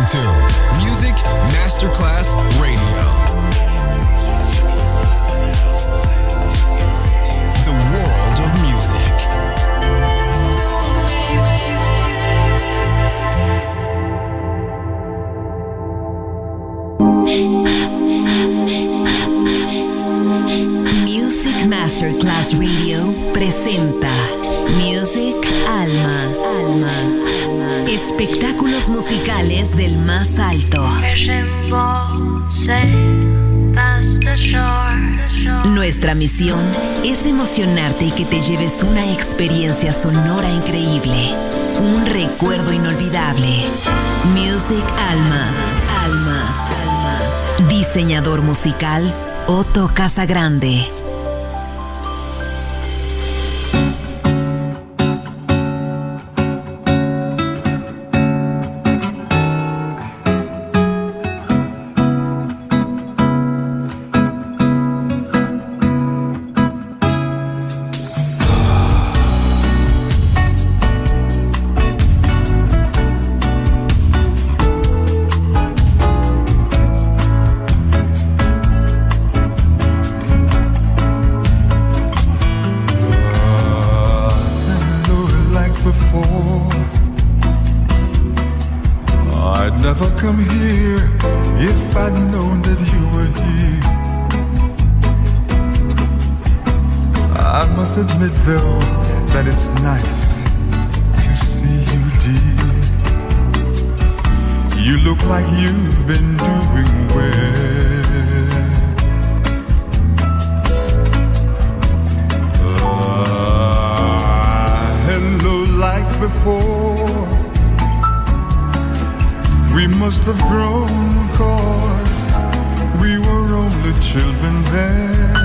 to Music Masterclass Radio. The world of music. Music Masterclass Radio presenta Music Alma. Espectáculos musicales del más alto. Nuestra misión es emocionarte y que te lleves una experiencia sonora increíble, un recuerdo inolvidable. Music Alma. Diseñador musical Otto Casagrande. Admit though that it's nice to see you, dear. You look like you've been doing well. Hello like before. We must have grown 'cause we were only children then.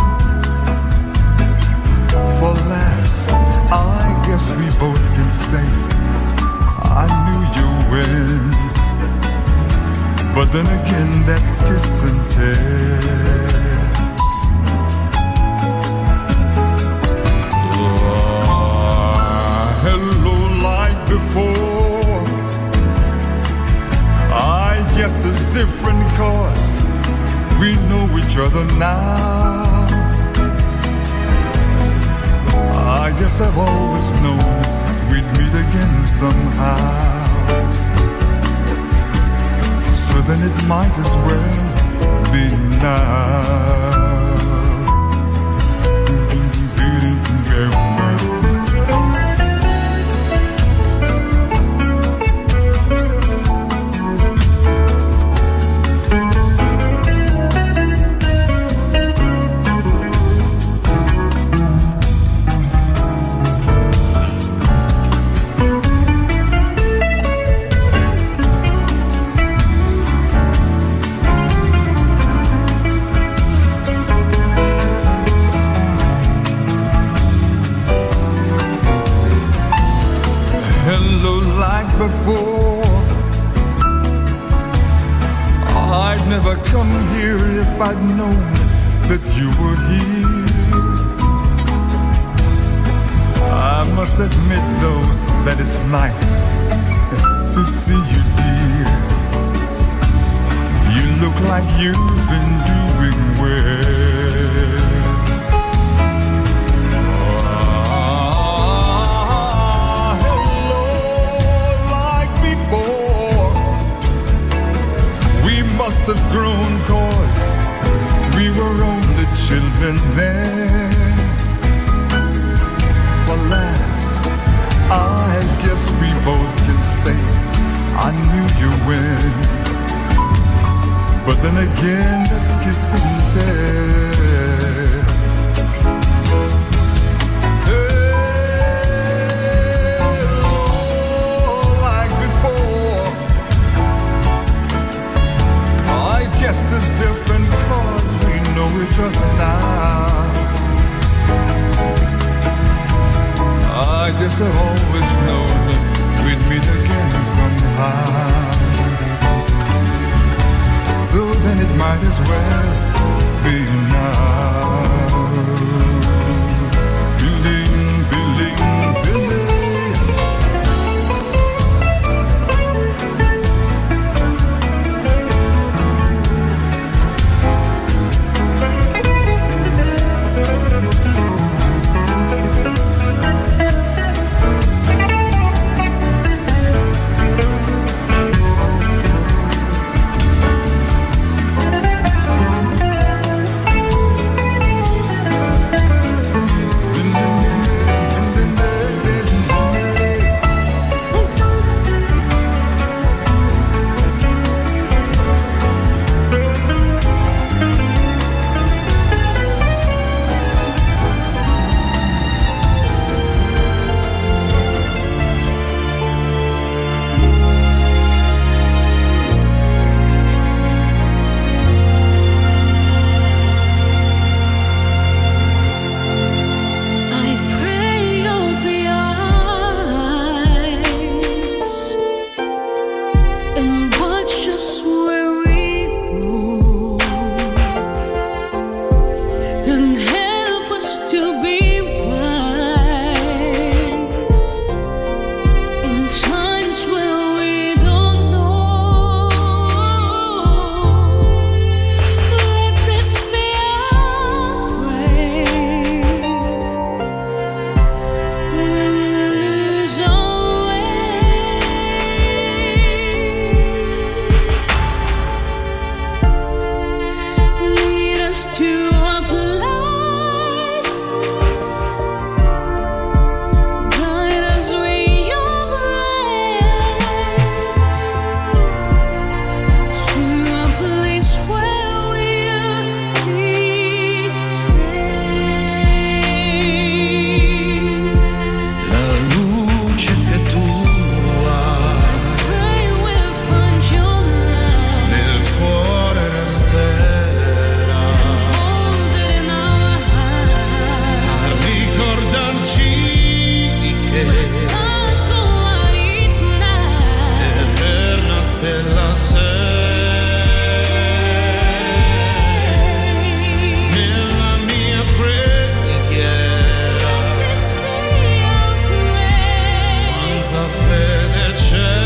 For laughs, I guess we both can say I knew you when. But then again, that's kiss and tell. Hello like before. I guess it's different 'cause we know each other now. I guess I've always known we'd meet again somehow. So then it might as well be now. Before I'd never come here if I'd known that you were here. I must admit though that it's nice to see you, dear. You look like you've been doing well. Must have grown 'cause we were only children then. For laughs, I guess we both can say I knew you when. But then again, that's kiss and tell. Guess it's different 'cause we know each other now. I guess I've always known we'd meet again somehow. So then it might as well be now. Billing, billing, billing. eterna stella sei. Nella mia preghiera quanta fede c'è.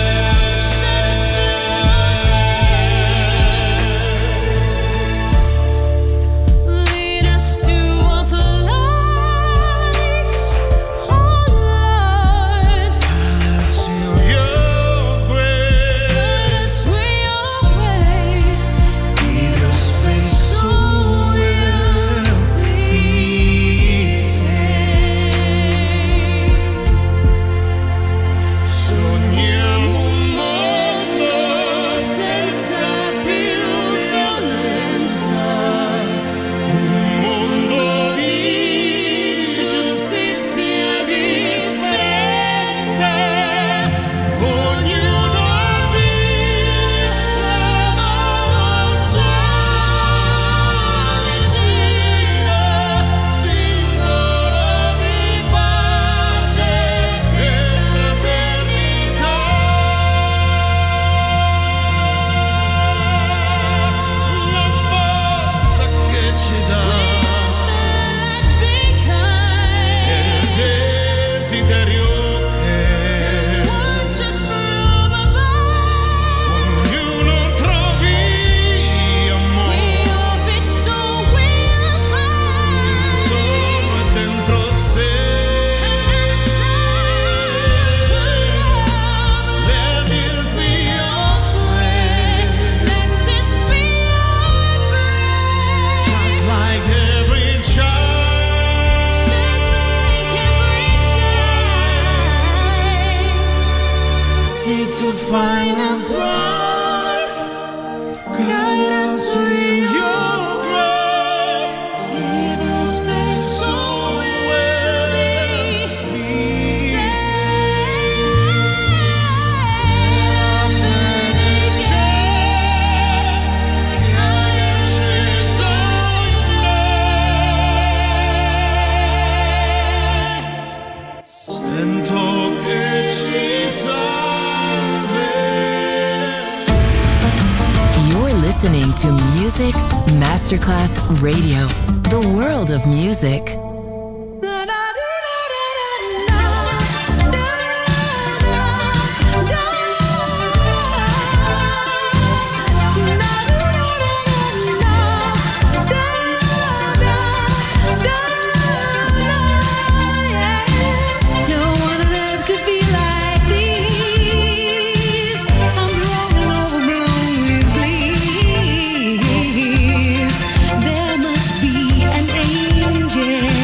To find a place, guide us to your grace, save us, my soul will be saved. Sento che ci Listening to Music Masterclass Radio, the world of music. There must be an angel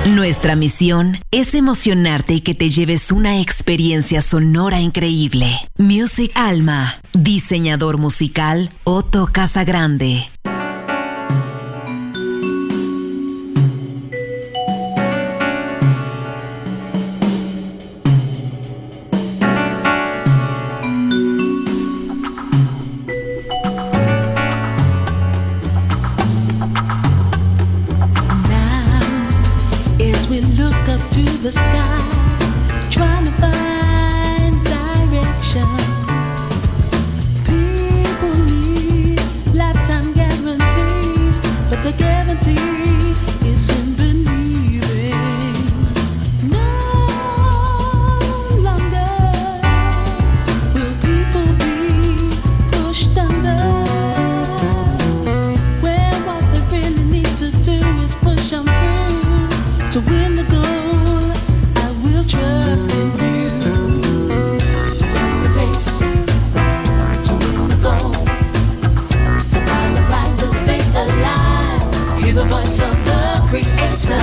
Nuestra misión es emocionarte y que te lleves una experiencia sonora increíble. Music Alma, diseñador musical Otto Casagrande. The sky, trying to find direction. People need lifetime guarantees, but the guarantee is in believing. No longer will people be pushed under, where what they really need to do is push them through to win the goal. Trust in you. Race to win the goal, to find the right to stay alive. Hear the voice of the Creator.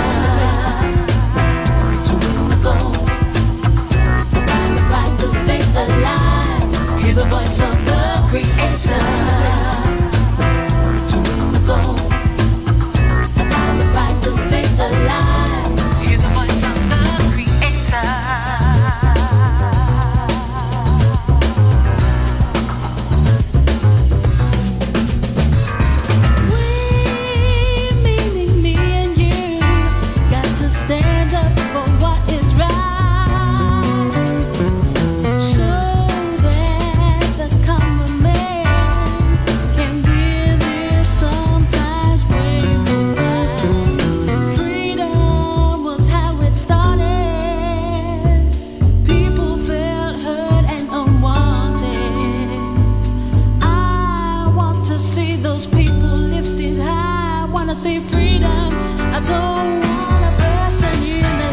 To win the goal, to find the right to stay alive. Hear the voice of the Creator. To win the goal, to find the right to stay alive. Hear the voice of the Creator. Say freedom, I don't want a person in the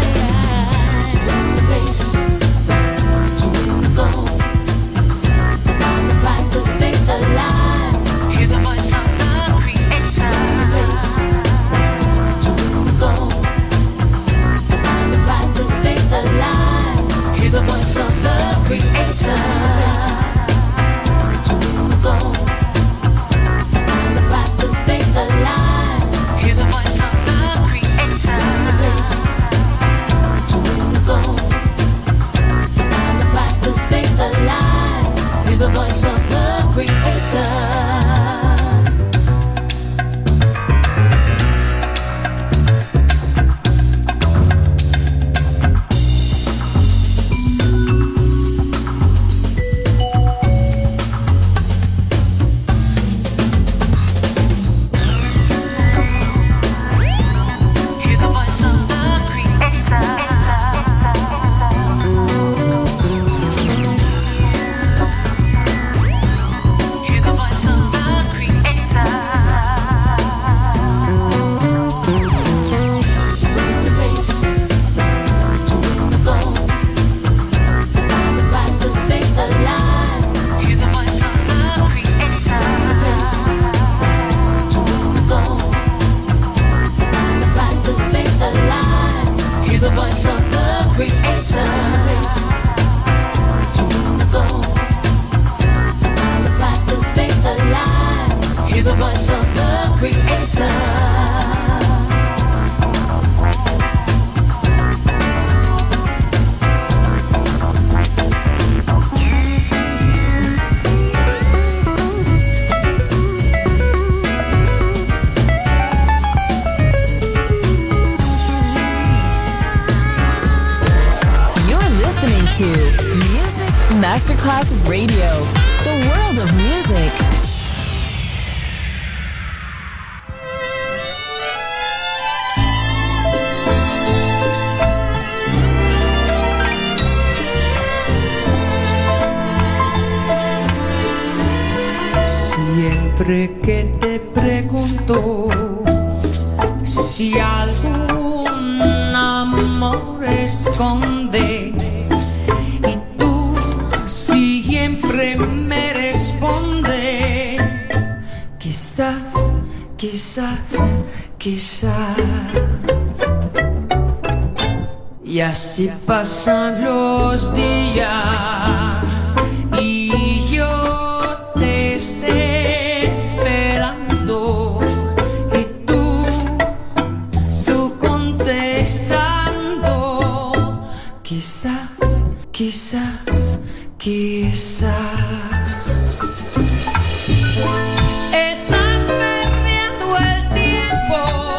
line. Race to win the goal, to find the right to stay alive. Hear the voice of the Creator. Race to win the goal, to find the right to stay alive. Hear the voice of the Creator. To win the goal, to find the right to stay alive. Hear the voice of the Creator. To win the goal, to find the right to stay alive. Hear the voice of the Creator. Masterclass Radio, the world of music. Siempre que te pregunto si algún amor esconde, siempre me responde, quizás, quizás, quizás. Y así pasan los días y yo desesperando y tú contestando. Quizás, quizás, quizás estás perdiendo el tiempo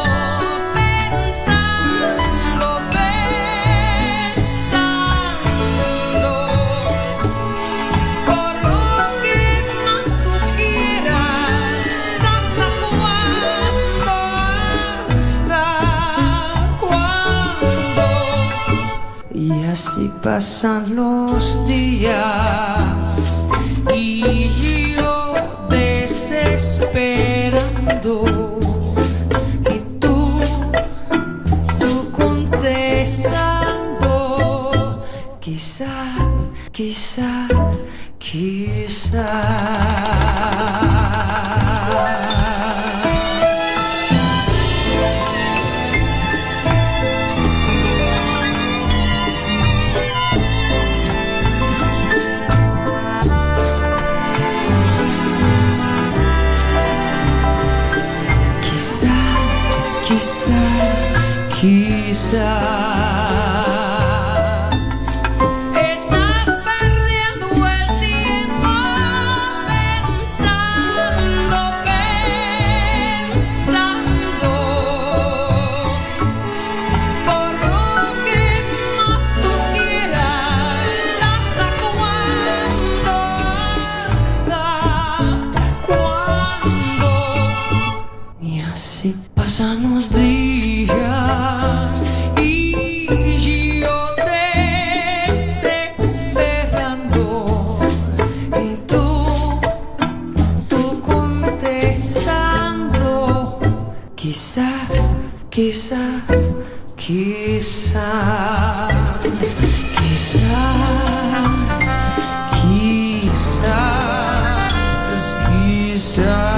pensando, por lo que más tú quieras. ¿Hasta cuándo? Y así pasan los días y yo desesperando y tú contestando. Quizás, quizás, quizás. Quizás, quizás estás perdiendo el tiempo pensando, por lo que más tú quieras. ¿Hasta cuándo? Y así pasan los días y yo desesperando y tú contestando. Quizás, quizás, quizás, quizás, quizás, quizás.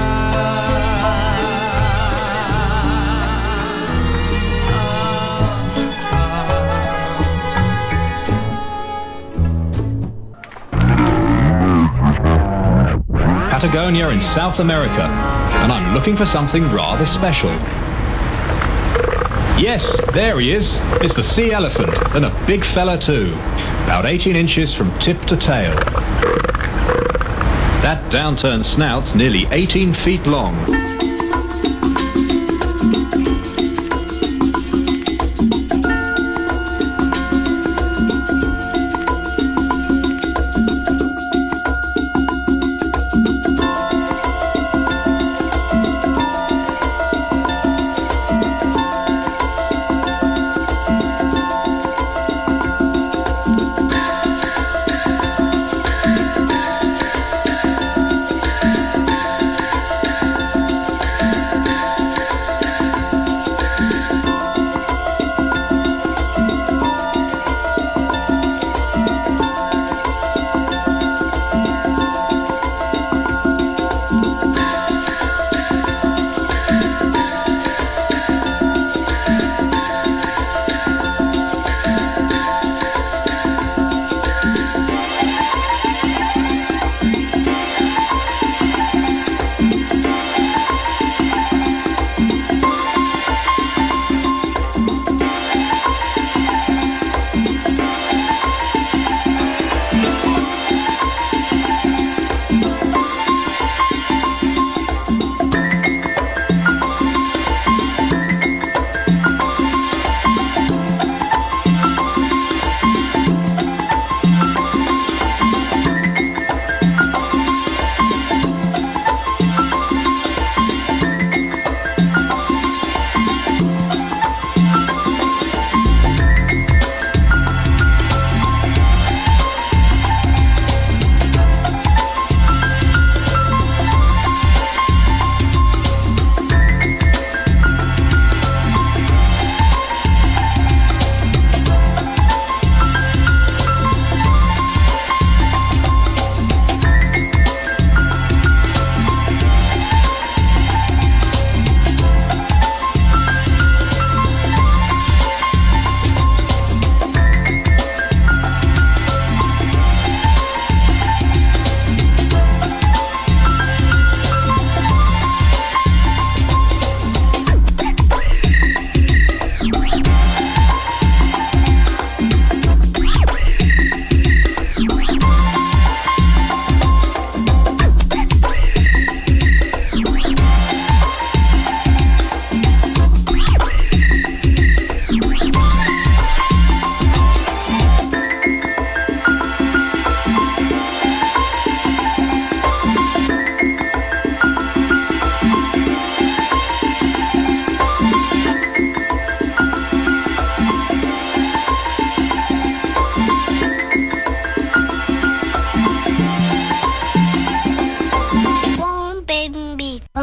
Patagonia in South America, and I'm looking for something rather special. Yes, there he is. It's the sea elephant, and a big fella too. About 18 inches from tip to tail. That downturned snout's nearly 18 feet long.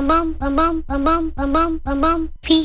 P.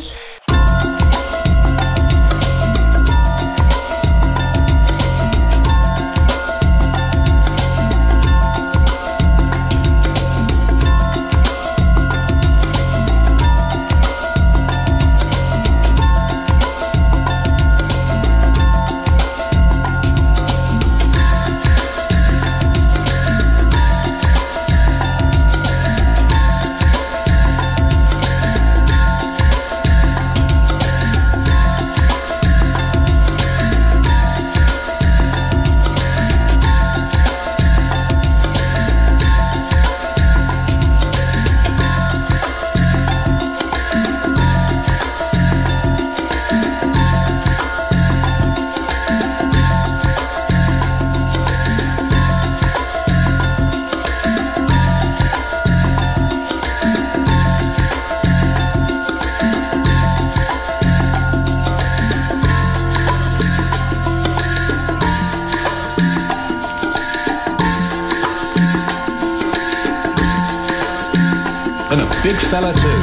And a big fella too.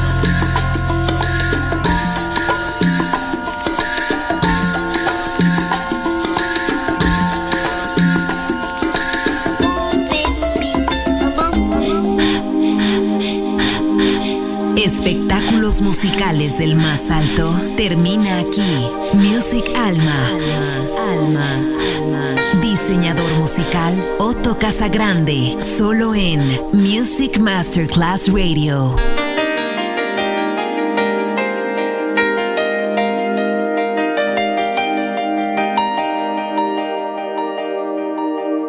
Espectáculos musicales del más alto termina aquí. Music Alma. Diseñador musical Otto Casagrande, solo en Music Masterclass Radio.